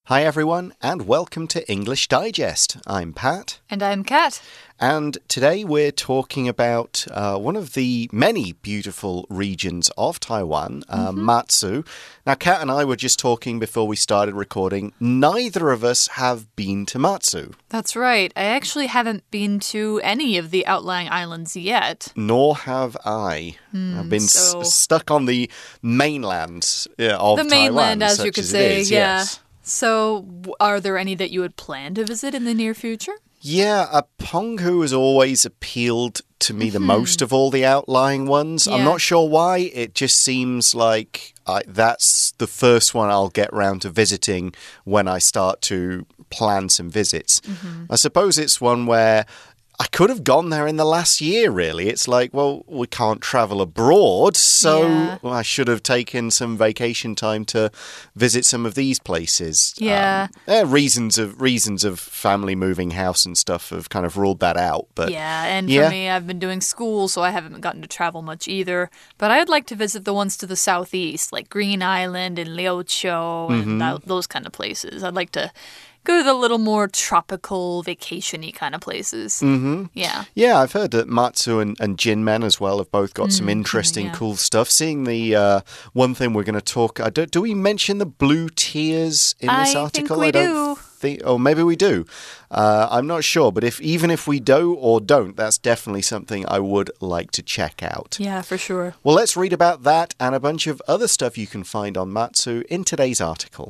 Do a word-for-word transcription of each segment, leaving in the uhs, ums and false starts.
Hi everyone, and welcome to English Digest. I'm Pat. And I'm Kat. And today we're talking about uh, one of the many beautiful regions of Taiwan, uh, mm-hmm. Matsu. Now, Kat and I were just talking before we started recording. Neither of us have been to Matsu. That's right. I actually haven't been to any of the outlying islands yet. Nor have I. Mm, I've been so... s stuck on the mainland uh, of the Taiwan. The mainland, as you could as say, is, yeah. Yes. So, are there any that you would plan to visit in the near future? Yeah, uh, Penghu has always appealed to me the mm-hmm. most of all the outlying ones. Yeah. I'm not sure why. It just seems like I, that's the first one I'll get round to visiting when I start to plan some visits. Mm-hmm. I suppose it's one where I could have gone there in the last year, really. It's like, well, we can't travel abroad, so yeah. well, I should have taken some vacation time to visit some of these places. Yeah. Um, eh, reasons of reasons of family moving house and stuff have kind of ruled that out. But yeah, and yeah. for me, I've been doing school, so I haven't gotten to travel much either. But I'd like to visit the ones to the southeast, like Green Island and Liuqiu and mm-hmm. that, those kind of places. I'd like to go to the little more tropical, vacation-y kind of places. Mm-hmm. Yeah. Yeah, I've heard that Matsu and, and Jinmen as well have both got mm, some interesting, yeah. cool stuff. Seeing the uh, one thing we're going to talk... Uh, do, do we mention the blue tiers in this I article? Think we I don't do. think... Oh, maybe we do. Uh, I'm not sure. But if even if we do or don't, that's definitely something I would like to check out. Yeah, for sure. Well, let's read about that and a bunch of other stuff you can find on Matsu in today's article.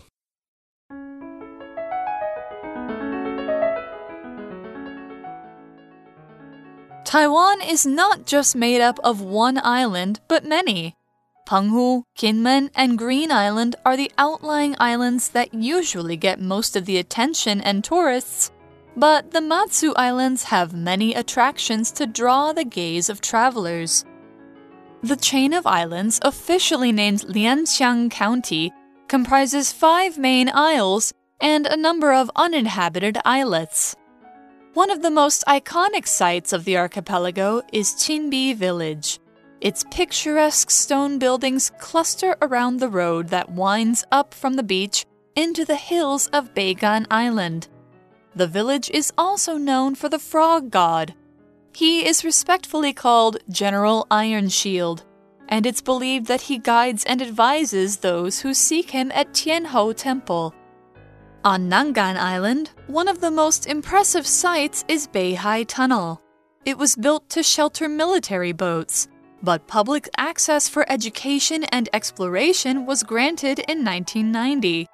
Taiwan is not just made up of one island, but many. Penghu, Kinmen, and Green Island are the outlying islands that usually get most of the attention and tourists, but the Matsu Islands have many attractions to draw the gaze of travelers. The chain of islands, officially named Lianxiang County, comprises five main isles and a number of uninhabited islets. One of the most iconic sites of the archipelago is Chinbi Village. Its picturesque stone buildings cluster around the road that winds up from the beach into the hills of Beigan Island. The village is also known for the frog god. He is respectfully called General Iron Shield, and it's believed that he guides and advises those who seek him at Tianhou Temple. On Nangan Island, one of the most impressive sights is Beihai Tunnel. It was built to shelter military boats, but public access for education and exploration was granted in nineteen ninety.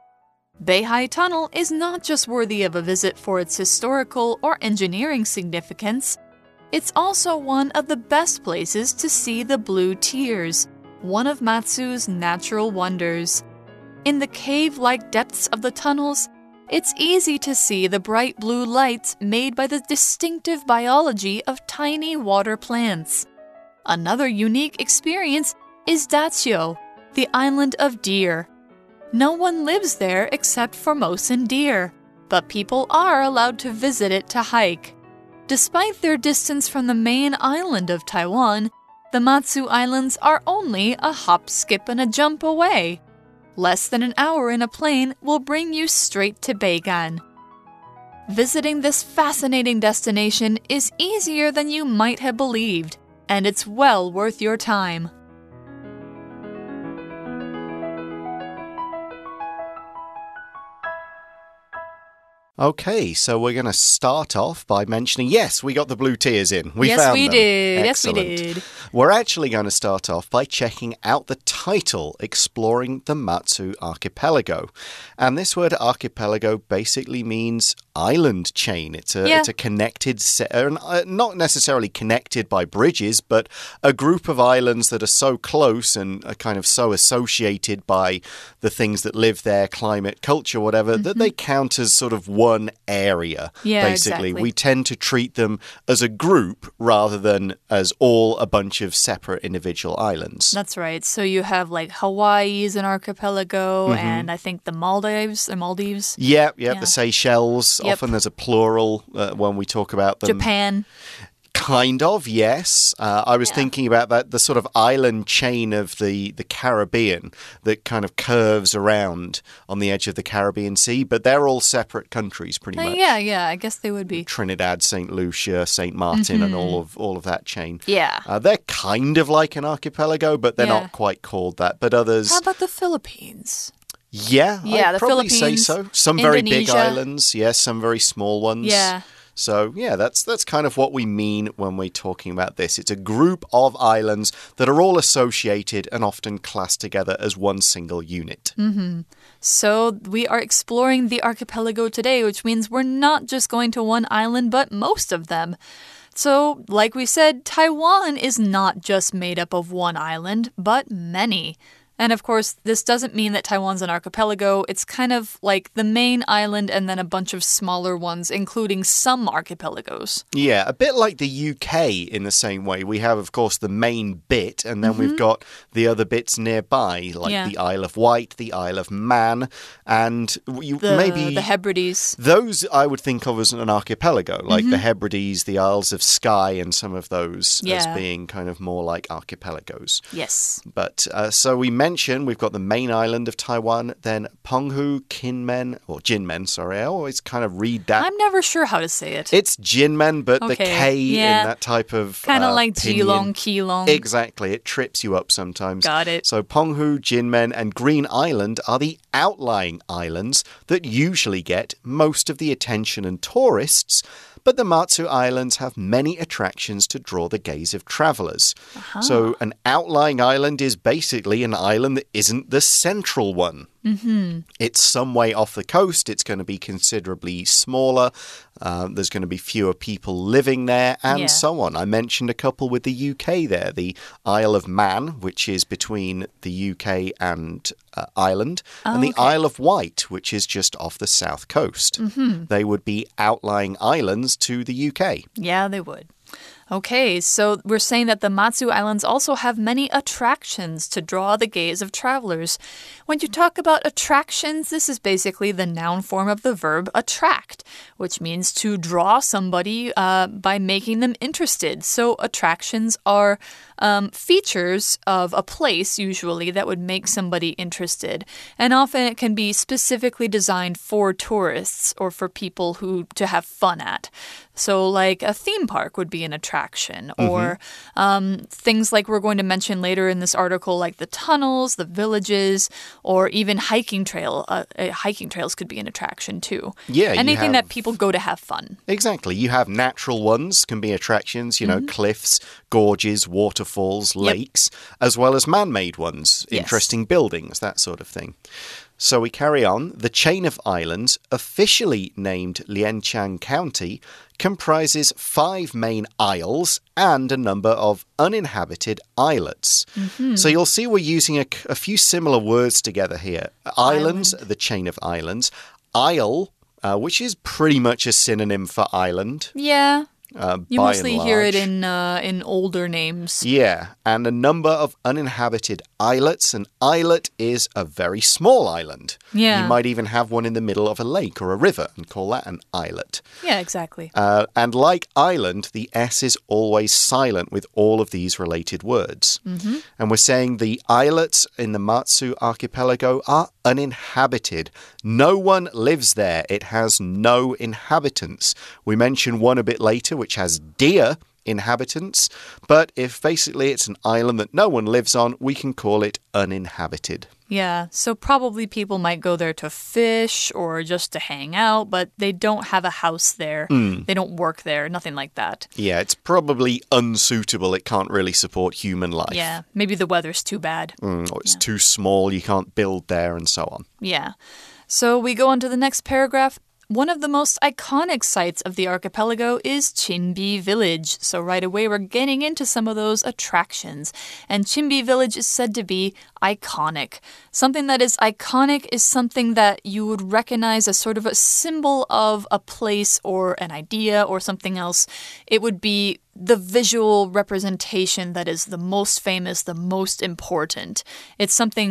Beihai Tunnel is not just worthy of a visit for its historical or engineering significance, it's also one of the best places to see the Blue Tiers, one of Matsu's natural wonders. In the cave-like depths of the tunnels, it's easy to see the bright blue lights made by the distinctive biology of tiny water plants. Another unique experience is Dazhou, the island of deer. No one lives there except Formosan deer, but people are allowed to visit it to hike. Despite their distance from the main island of Taiwan, the Matsu Islands are only a hop, skip, and a jump away. Less than an hour in a plane will bring you straight to Beigan. Visiting this fascinating destination is easier than you might have believed, and it's well worth your time. Okay, so we're going to start off by mentioning, yes, we got the blue tiers in. We yes, found we them. did. Excellent. Yes, we did. We're actually going to start off by checking out the title, Exploring the Matsu Archipelago. And this word archipelago basically means island chain. It's a, yeah. it's a connected, set, uh, not necessarily connected by bridges, but a group of islands that are so close and are kind of so associated by the things that live there, climate, culture, whatever, mm-hmm. that they count as sort of one one area, yeah, basically. Exactly. We tend to treat them as a group rather than as all a bunch of separate individual islands. That's right. So you have like Hawaii is an archipelago, mm-hmm. and I think the Maldives, the Maldives. Yep, yep, yeah. The Seychelles. Yep. Often there's a plural uh, when we talk about them. Japan. Kind of, yes. Uh, I was yeah. thinking about that, the sort of island chain of the, the Caribbean that kind of curves around on the edge of the Caribbean Sea, but they're all separate countries pretty uh, much. Yeah, yeah, I guess they would be. Trinidad, Saint Lucia, Saint Martin, mm-hmm. and all of all of that chain. Yeah. Uh, they're kind of like an archipelago, but they're yeah. not quite called that. But others... How about the Philippines? Yeah, yeah I'd the probably Philippines, say so. Some Indonesia. very big islands, yes, some very small ones. Yeah. So, yeah, that's that's kind of what we mean when we're talking about this. It's a group of islands that are all associated and often classed together as one single unit. Mm-hmm. So, we are exploring the archipelago today, which means we're not just going to one island, but most of them. So, like we said, Taiwan is not just made up of one island, but many. And of course, this doesn't mean that Taiwan's an archipelago. It's kind of like the main island and then a bunch of smaller ones, including some archipelagos. Yeah, a bit like the U K in the same way. We have, of course, the main bit, and then mm-hmm. we've got the other bits nearby, like yeah. the Isle of Wight, the Isle of Man, and you, the, maybe... The Hebrides. Those I would think of as an archipelago, like mm-hmm. the Hebrides, the Isles of Skye, and some of those yeah. as being kind of more like archipelagos. Yes. But, uh, so we mentioned We've got the main island of Taiwan, then Penghu, Kinmen, or Jinmen, sorry. I always kind of read that. I'm never sure how to say it. It's Jinmen, but okay. the K yeah. in that type of Kind of uh, like pinyin. Geelong, Keelong. Exactly. It trips you up sometimes. Got it. So Penghu, Jinmen, and Green Island are the outlying islands that usually get most of the attention and tourists. But the Matsu Islands have many attractions to draw the gaze of travelers. Uh-huh. So an outlying island is basically an island that isn't the central one. Mm-hmm. It's some way off the coast. It's going to be considerably smaller. Uh, there's going to be fewer people living there and yeah. so on. I mentioned a couple with the U K there. The Isle of Man, which is between the U K and uh, Ireland, oh, and the okay. Isle of Wight, which is just off the south coast. Mm-hmm. They would be outlying islands to the U K. Yeah, they would. Okay, so we're saying that the Matsu Islands also have many attractions to draw the gaze of travelers. When you talk about attractions, this is basically the noun form of the verb attract, which means to draw somebody uh, by making them interested. So attractions are um, features of a place, usually, that would make somebody interested. And often it can be specifically designed for tourists or for people who to have fun at. So like a theme park would be an attraction, or mm-hmm. um, things like we're going to mention later in this article, like the tunnels, the villages, or even hiking trail. Uh, uh, hiking trails could be an attraction too. Yeah, anything have... that people go to have fun. Exactly. You have natural ones, can be attractions, you know, mm-hmm. cliffs, gorges, waterfalls, lakes, yep. as well as man-made ones, yes. interesting buildings, that sort of thing. So we carry on. The chain of islands, officially named Lianchang County, comprises five main isles and a number of uninhabited islets. Mm-hmm. So you'll see we're using a, a few similar words together here. Islands, Island. The chain of islands. Isle, uh, which is pretty much a synonym for island. Yeah. Uh, you mostly hear it in uh, in older names. Yeah, and a number of uninhabited islets. An islet is a very small island. Yeah. You might even have one in the middle of a lake or a river and call that an islet. Yeah, exactly. Uh, and like island, the S is always silent with all of these related words. Mm-hmm. And we're saying the islets in the Matsu archipelago are uninhabited. No one lives there. It has no inhabitants. We mention one a bit later, which has deer inhabitants. But if basically it's an island that no one lives on, we can call it uninhabited. Yeah, so probably people might go there to fish or just to hang out, but they don't have a house there. Mm. They don't work there, nothing like that. Yeah, it's probably unsuitable. It can't really support human life. Yeah, maybe the weather's too bad. Mm, or it's yeah. too small, you can't build there, and so on. Yeah. So we go on to the next paragraph. One of the most iconic sites of the archipelago is Chinbi Village. So right away we're getting into some of those attractions. And Chinbi Village is said to be iconic. Something that is iconic is something that you would recognize as sort of a symbol of a place or an idea or something else. It would be the visual representation that is the most famous, the most important. It's something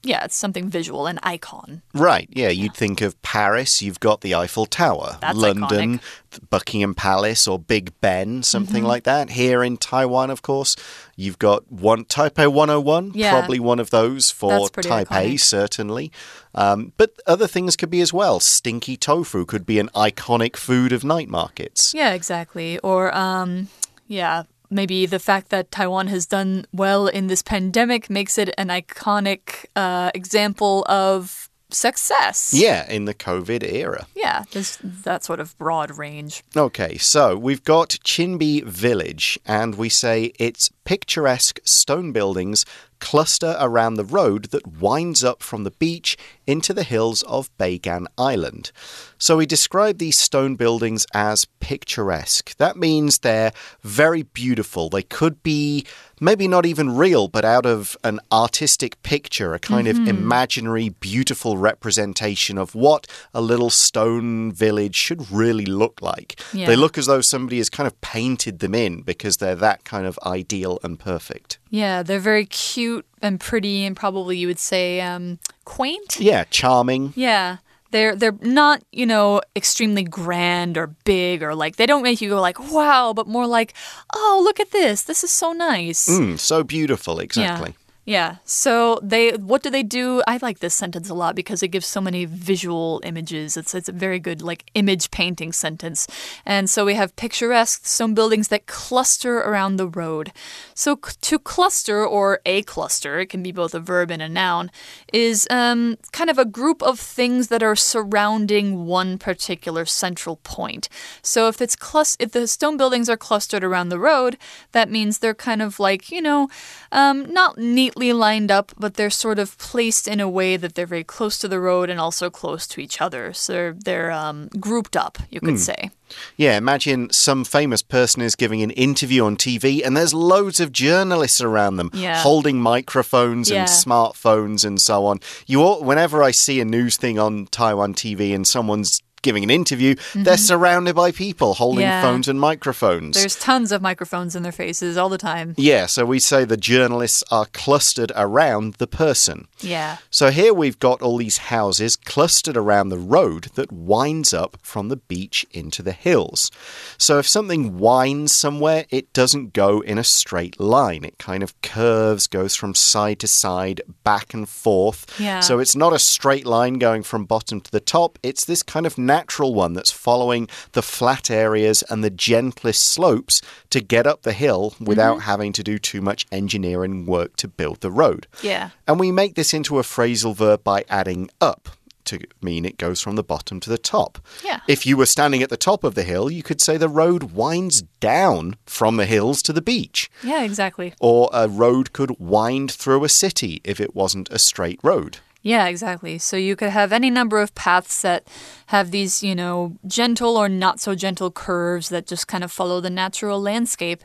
yeah, it's something visual, an icon. Right, yeah, you'd think of Paris, you've got the Eiffel Tower. That's London, iconic. Buckingham Palace or Big Ben, something Mm-hmm. like that. Here in Taiwan, of course, you've got one Taipei one oh one, Yeah. probably one of those for That's pretty Taipei, iconic. certainly. Um, but other things could be as well. Stinky tofu could be an iconic food of night markets. Yeah, exactly. Or, um, yeah, maybe the fact that Taiwan has done well in this pandemic makes it an iconic uh, example of success. Yeah, in the COVID era. Yeah, there's that sort of broad range. Okay, so we've got Chinbi Village, and we say its picturesque stone buildings cluster around the road that winds up from the beach into the hills of Beigan Island. So we describe these stone buildings as picturesque. That means they're very beautiful. They could be maybe not even real, but out of an artistic picture, a kind Mm-hmm. of imaginary, beautiful representation of what a little stone village should really look like. Yeah. They look as though somebody has kind of painted them in because they're that kind of ideal and perfect. Yeah, they're very cute and pretty and probably you would say um, quaint. Yeah, charming. Yeah. They're they're not, you know, extremely grand or big or like they don't make you go like, wow, but more like, oh, look at this. This is so nice. Mm, so beautiful, exactly. Yeah. Yeah. So they, what do they do? I like this sentence a lot because it gives so many visual images. It's it's a very good like image painting sentence. And so we have picturesque stone buildings that cluster around the road. So c- to cluster or a cluster, it can be both a verb and a noun, is um, kind of a group of things that are surrounding one particular central point. So if it's clus- if the stone buildings are clustered around the road, that means they're kind of like, you know, um, not neatly lined up, but they're sort of placed in a way that they're very close to the road and also close to each other. So they're, they're um, grouped up, you could say. Yeah, imagine some famous person is giving an interview on T V and there's loads of journalists around them Yeah. holding microphones Yeah. and smartphones and so on. You all, whenever I see a news thing on Taiwan T V and someone's giving an interview, they're surrounded by people holding Yeah. phones and microphones. There's tons of microphones in their faces all the time. Yeah, so we say the journalists are clustered around the person. Yeah. So here we've got all these houses clustered around the road that winds up from the beach into the hills. So if something winds somewhere, it doesn't go in a straight line. It kind of curves, goes from side to side, back and forth. Yeah. So it's not a straight line going from bottom to the top. It's this kind of natural one that's following the flat areas and the gentlest slopes to get up the hill without having to do too much engineering work to build the road. Yeah. And we make this into a phrasal verb by adding up to mean it goes from the bottom to the top. Yeah. If you were standing at the top of the hill, you could say the road winds down from the hills to the beach. Yeah, exactly. Or a road could wind through a city if it wasn't a straight road. Yeah, exactly. So you could have any number of paths that have these, you know, gentle or not so gentle curves that just kind of follow the natural landscape.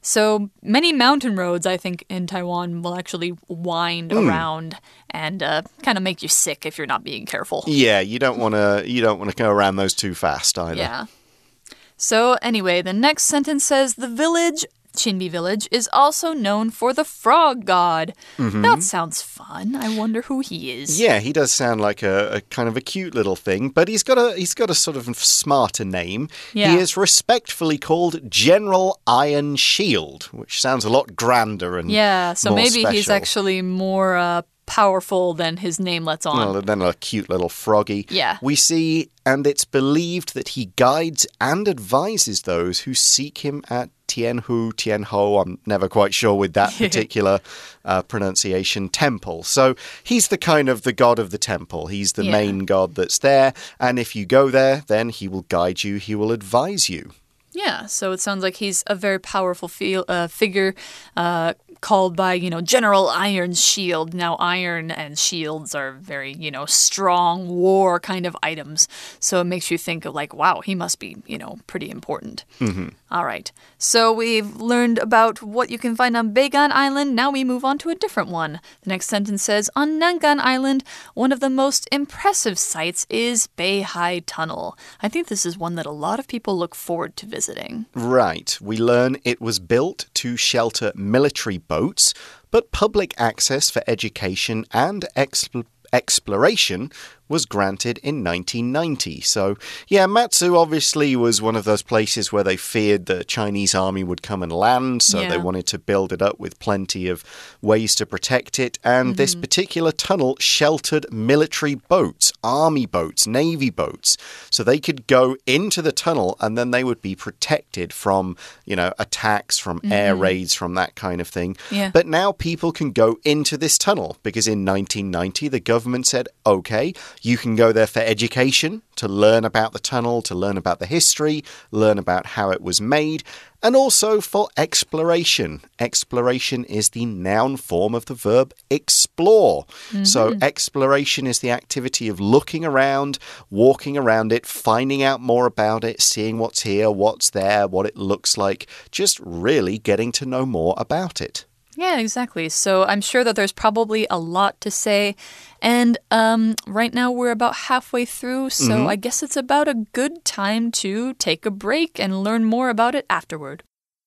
So many mountain roads, I think, in Taiwan will actually wind around and uh, kind of make you sick if you're not being careful. Yeah, you don't want to you don't want to go around those too fast either. Yeah. So anyway, the next sentence says the village, Chinbi Village, is also known for the frog god. That sounds fun. I wonder who he is. Yeah, he does sound like a, a kind of a cute little thing, but he's got a he's got a sort of smarter name. Yeah. He is respectfully called General Iron Shield, which sounds a lot grander and Yeah, so more maybe he's special. actually more uh, powerful than his name lets on. Well, then a cute little froggy. Yeah. We see, and it's believed that he guides and advises those who seek him at Tianhu, Tianho, I'm never quite sure with that particular uh, pronunciation, temple. So he's the kind of the god of the temple. He's the Yeah. main god that's there. And if you go there, then he will guide you, he will advise you. Yeah, so it sounds like he's a very powerful feel, uh, figure uh, called by, you know, General Iron Shield. Now, iron and shields are very, you know, strong war kind of items. So it makes you think of like, wow, he must be, you know, pretty important. Mm-hmm. All right. So we've learned about what you can find on Beigan Island. Now we move on to a different one. The next sentence says, on Nangan Island, one of the most impressive sights is Beihai Tunnel. I think this is one that a lot of people look forward to visiting. Right. We learn it was built to shelter military boats, but public access for education and expl exploration was granted in nineteen ninety. So, yeah, Matsu obviously was one of those places where they feared the Chinese army would come and land, so yeah. they wanted to build it up with plenty of ways to protect it. And mm-hmm. this particular tunnel sheltered military boats, army boats, navy boats. So they could go into the tunnel and then they would be protected from, you know, attacks, from mm-hmm. air raids, from that kind of thing. Yeah. But now people can go into this tunnel because in nineteen ninety, the government said, okay, you can go there for education, to learn about the tunnel, to learn about the history, learn about how it was made, and also for exploration. Exploration is the noun form of the verb explore. Mm-hmm. So exploration is the activity of looking around, walking around it, finding out more about it, seeing what's here, what's there, what it looks like, just really getting to know more about it. Yeah, exactly. So I'm sure that there's probably a lot to say. And um, right now we're about halfway through, so mm-hmm. I guess it's about a good time to take a break and learn more about it afterward.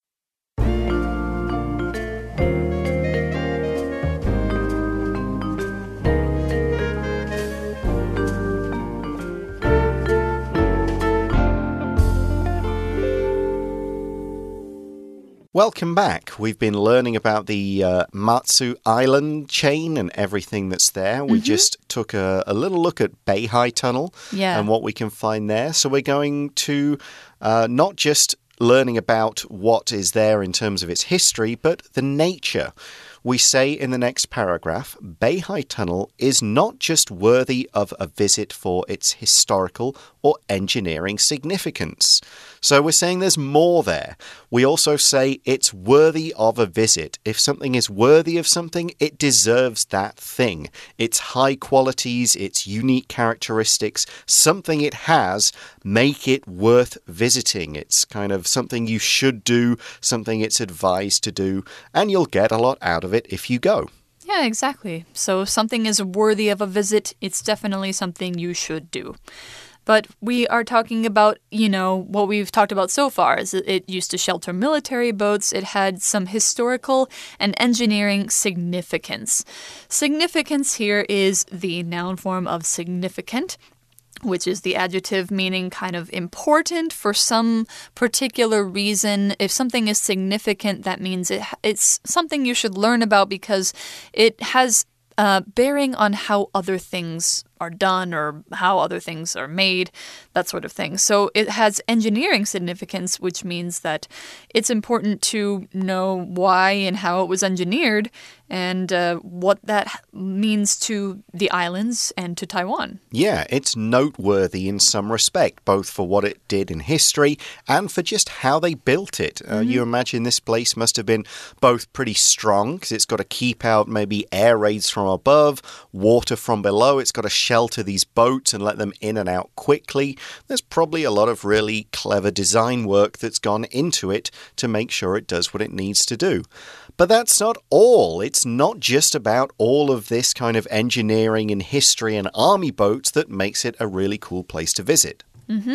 Welcome back. We've been learning about the uh, Matsu Island chain and everything that's there. We mm-hmm. just took a, a little look at Beihai Tunnel yeah. and what we can find there. So we're going to uh, not just learning about what is there in terms of its history, but the nature. We say in the next paragraph, Beihai Tunnel is not just worthy of a visit for its historical or engineering significance. So we're saying there's more there. We also say it's worthy of a visit. If something is worthy of something, it deserves that thing. Its high qualities, its unique characteristics, something it has, make it worth visiting. It's kind of something you should do, something it's advised to do, and you'll get a lot out of it if you go. Yeah, exactly. So if something is worthy of a visit, it's definitely something you should do. But we are talking about, you know, what we've talked about so far is it, it used to shelter military boats. It had some historical and engineering significance. Significance here is the noun form of significant, which is the adjective meaning kind of important for some particular reason. If something is significant, that means it, it's something you should learn about because it has uh, bearing on how other things are done or how other things are made, that sort of thing. So it has engineering significance, which means that it's important to know why and how it was engineered and uh, what that means to the islands and to Taiwan. Yeah, it's noteworthy in some respect, both for what it did in history and for just how they built it. Uh, mm-hmm. You imagine this place must have been both pretty strong because it's got to keep out maybe air raids from above, water from below. It's got to shelter these boats and let them in and out quickly. There's probably a lot of really clever design work that's gone into it to make sure it does what it needs to do. But that's not all. It's not just about all of this kind of engineering and history and army boats that makes it a really cool place to visit. Mm-hmm.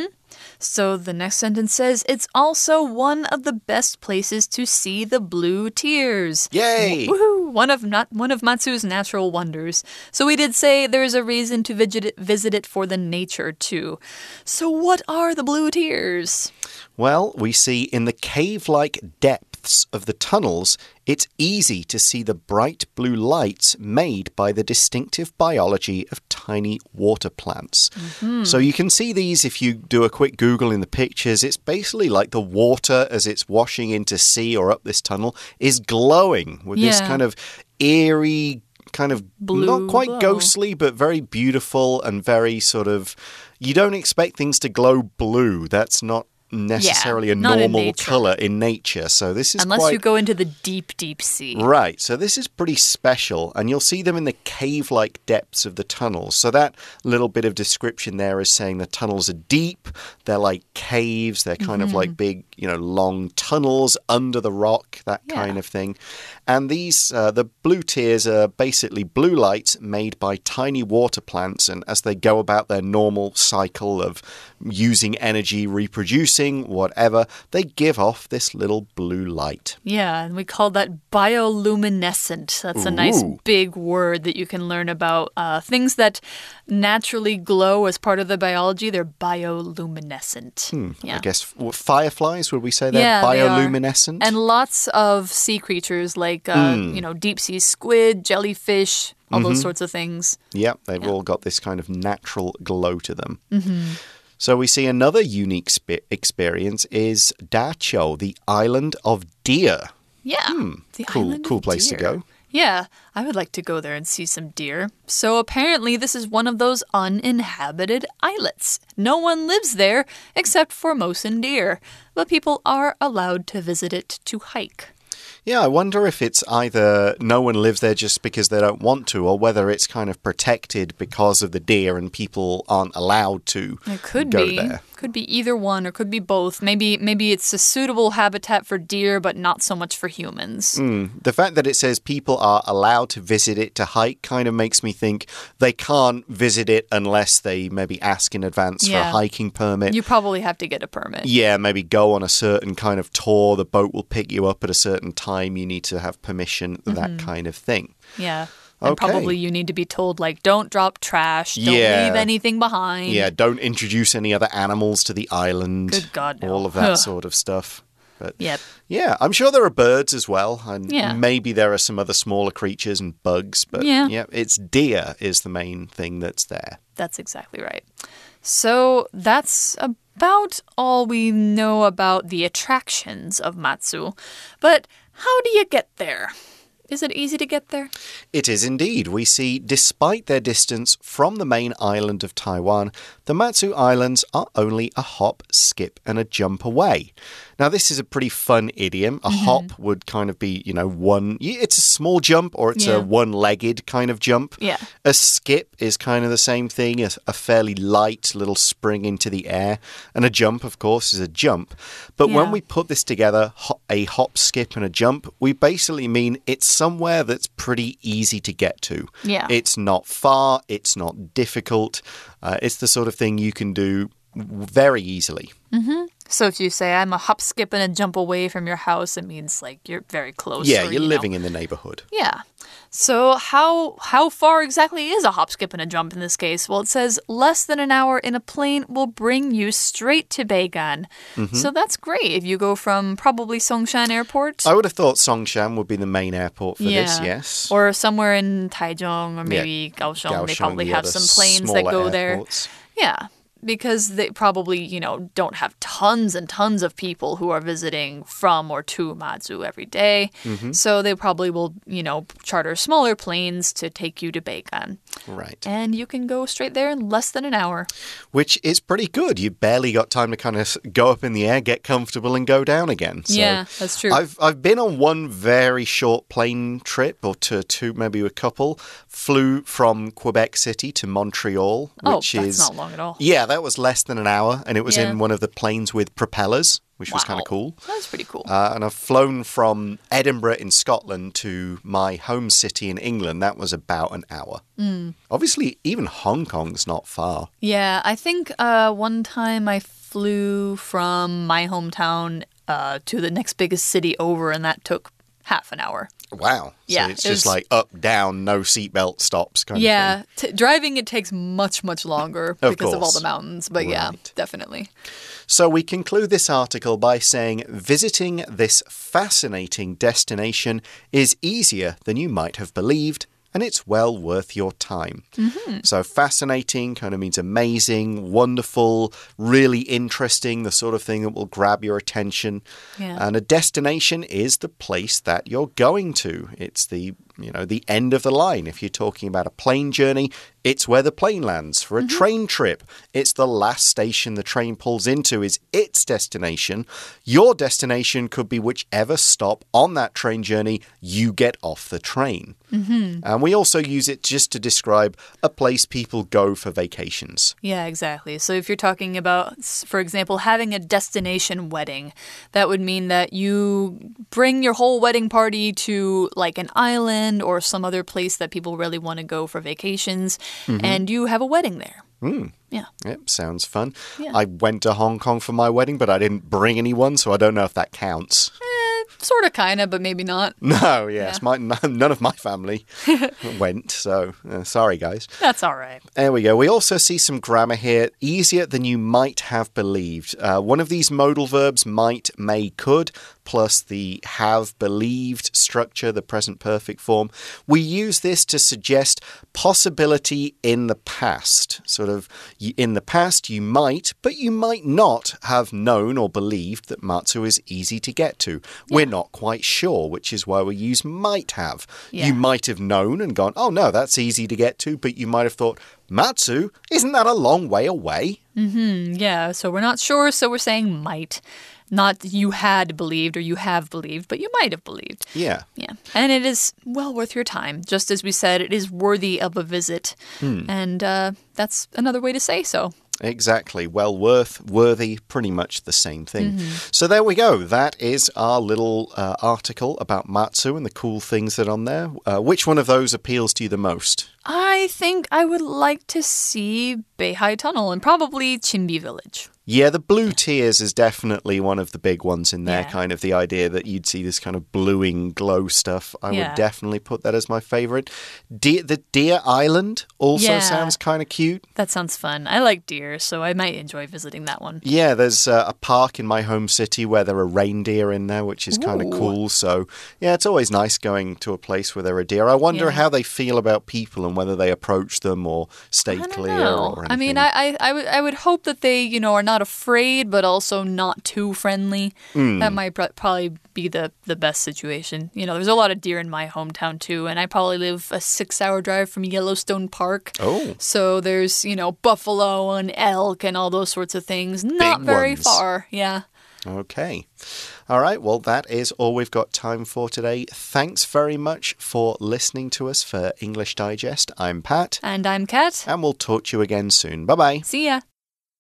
So the next sentence says, it's also one of the best places to see the blue tears. Yay! Woohoo! One of not one of Matsu's natural wonders. So we did say there's a reason to visit it, visit it for the nature too. So what are the blue tears? Well, we see in the cave-like depths of the tunnels, it's easy to see the bright blue lights made by the distinctive biology of tiny water plants. Mm-hmm. So you can see these if you do a quick Google in the pictures. It's basically like the water as it's washing into sea or up this tunnel is glowing with yeah. this kind of eerie, kind of blue not quite glow. Ghostly, but very beautiful and very sort of, you don't expect things to glow blue. That's not necessarily yeah, a normal color in nature. So this is Unless quite... you go into the deep, deep sea. Right. So this is pretty special. And you'll see them in the cave-like depths of the tunnels. So that little bit of description there is saying the tunnels are deep. They're like caves. They're kind mm-hmm. of like big, you know, long tunnels under the rock, that yeah. kind of thing. And these, uh, the blue tears are basically blue lights made by tiny water plants. And as they go about their normal cycle of using energy, reproducing, producing whatever, they give off this little blue light. Yeah, and we call that bioluminescent. That's a Ooh. nice big word that you can learn about. Uh, things that naturally glow as part of the biology, they're bioluminescent. Hmm, yeah. I guess fireflies, would we say they're yeah, bioluminescent? They are. And lots of sea creatures like, uh, mm. you know, deep sea squid, jellyfish, all mm-hmm. those sorts of things. Yep, they've yeah. all got this kind of natural glow to them. Mm-hmm. So we see another unique experience is Dachau, the island of deer. Yeah, hmm, the cool, island cool of place deer. to go. Yeah, I would like to go there and see some deer. So apparently this is one of those uninhabited islets. No one lives there except Formosan deer, but people are allowed to visit it to hike. Yeah, I wonder if it's either no one lives there just because they don't want to, or whether it's kind of protected because of the deer and people aren't allowed to it could go be. there. Could be either one or could be both. Maybe maybe it's a suitable habitat for deer, but not so much for humans. Mm, the fact that it says people are allowed to visit it to hike kind of makes me think they can't visit it unless they maybe ask in advance yeah. for a hiking permit. You probably have to get a permit. Yeah, maybe go on a certain kind of tour. The boat will pick you up at a certain time. You need to have permission, mm-hmm. that kind of thing. Yeah. And okay. probably you need to be told, like, don't drop trash, don't yeah. leave anything behind. Yeah, don't introduce any other animals to the island. Good God, no. All of that sort of stuff. But yep. yeah, I'm sure there are birds as well. And yeah. maybe there are some other smaller creatures and bugs. But yeah. yeah, it's deer is the main thing that's there. That's exactly right. So that's about all we know about the attractions of Matsu. But how do you get there? Is it easy to get there? It is indeed. We see, despite their distance from the main island of Taiwan, the Matsu Islands are only a hop, skip, and a jump away. Now, this is a pretty fun idiom. A mm-hmm. hop would kind of be, you know, one... It's a small jump or it's yeah. a one-legged kind of jump. Yeah. A skip is kind of the same thing, a, a fairly light little spring into the air. And a jump, of course, is a jump. But yeah. when we put this together, a hop, skip, and a jump, we basically mean it's somewhere that's pretty easy to get to. Yeah. It's not far, it's not difficult. Uh, it's the sort of thing you can do very easily. Mm-hmm. So if you say, I'm a hop, skip, and a jump away from your house, it means like you're very close. Yeah, or, you're you living know. in the neighborhood. Yeah. So how how far exactly is a hop, skip, and a jump in this case? Well, it says less than an hour in a plane will bring you straight to Beigan. Mm-hmm. So that's great if you go from probably Songshan Airport. I would have thought Songshan would be the main airport for yeah. this, yes. Or somewhere in Taichung or maybe yeah. Kaohsiung. Kaohsiung. They probably The have some planes that go airports. there. Yeah. Because they probably, you know, don't have tons and tons of people who are visiting from or to Matsu every day. Mm-hmm. So they probably will, you know, charter smaller planes to take you to Beigan. Right. And you can go straight there in less than an hour. Which is pretty good. You barely got time to kind of go up in the air, get comfortable, and go down again. So yeah, that's true. I've I've been on one very short plane trip, or to two, maybe a couple. Flew from Quebec City to Montreal, which oh, that's is not long at all. Yeah, that was less than an hour, and it was yeah. in one of the planes with propellers, which wow. was kind of cool. That's pretty cool. Uh, and I've flown from Edinburgh in Scotland to my home city in England. That was about an hour. Mm. Obviously, even Hong Kong's not far. Yeah, I think uh, one time I flew from my hometown uh, to the next biggest city over, and that took half an hour. Wow. Yeah, So it's it just was... like up, down, no seatbelt stops kind yeah, of thing. Yeah, driving it takes much, much longer of because course. of all the mountains. But right. yeah, definitely. So we conclude this article by saying visiting this fascinating destination is easier than you might have believed, and it's well worth your time. Mm-hmm. So fascinating kind of means amazing, wonderful, really interesting, the sort of thing that will grab your attention. Yeah. And a destination is the place that you're going to. It's the, you know, the end of the line. If you're talking about a plane journey, it's where the plane lands. For a mm-hmm. train trip, it's the last station the train pulls into is its destination. Your destination could be whichever stop on that train journey you get off the train. Mm-hmm. And we also use it just to describe a place people go for vacations. Yeah, exactly. So if you're talking about, for example, having a destination wedding, that would mean that you bring your whole wedding party to like an island or some other place that people really want to go for vacations, mm-hmm. and you have a wedding there. Mm. Yeah. Yep, sounds fun. Yeah. I went to Hong Kong for my wedding, but I didn't bring anyone, so I don't know if that counts. Eh, sort of, kind of, but maybe not. No, yes. Yeah. My, none of my family went, so uh, sorry, guys. That's all right. There we go. We also see some grammar here. Easier than you might have believed. Uh, one of these modal verbs, might, may, could, plus the have believed structure, the present perfect form. We use this to suggest possibility in the past. Sort of, in the past, you might, but you might not have known or believed that Matsu is easy to get to. Yeah. We're not quite sure, which is why we use might have. Yeah. You might have known and gone, oh no, that's easy to get to, but you might have thought, Matsu, isn't that a long way away? Mm-hmm, yeah, so we're not sure, so we're saying might. Not you had believed or you have believed, but you might have believed. Yeah. Yeah. And it is well worth your time. Just as we said, it is worthy of a visit. Hmm. And uh, that's another way to say so. Exactly. Well worth, worthy, pretty much the same thing. Mm-hmm. So there we go. That is our little uh, article about Matsu and the cool things that are on there. Uh, which one of those appeals to you the most? I think I would like to see Beihai Tunnel and probably Chinbi Village. Yeah, the blue tears is definitely one of the big ones in there, yeah. kind of the idea that you'd see this kind of bluing glow stuff. I yeah. would definitely put that as my favorite. De the Deer Island also yeah. sounds kind of cute. That sounds fun. I like deer, so I might enjoy visiting that one. Yeah, there's uh, a park in my home city where there are reindeer in there, which is kind of cool. So, yeah, it's always nice going to a place where there are deer. I wonder yeah. how they feel about people and whether they approach them or stay clear know. or anything. I mean, I, I, I, would, I would hope that they, you know, are not afraid, but also not too friendly. Mm. That might pr probably be the, the best situation. You know, there's a lot of deer in my hometown, too, and I probably live a six-hour drive from Yellowstone Park. Oh. So there's, you know, buffalo and elk and all those sorts of things. Not Big very ones. far, yeah. Okay. All right. Well, that is all we've got time for today. Thanks very much for listening to us for English Digest. I'm Pat. And I'm Kat. And we'll talk to you again soon. Bye-bye. See ya.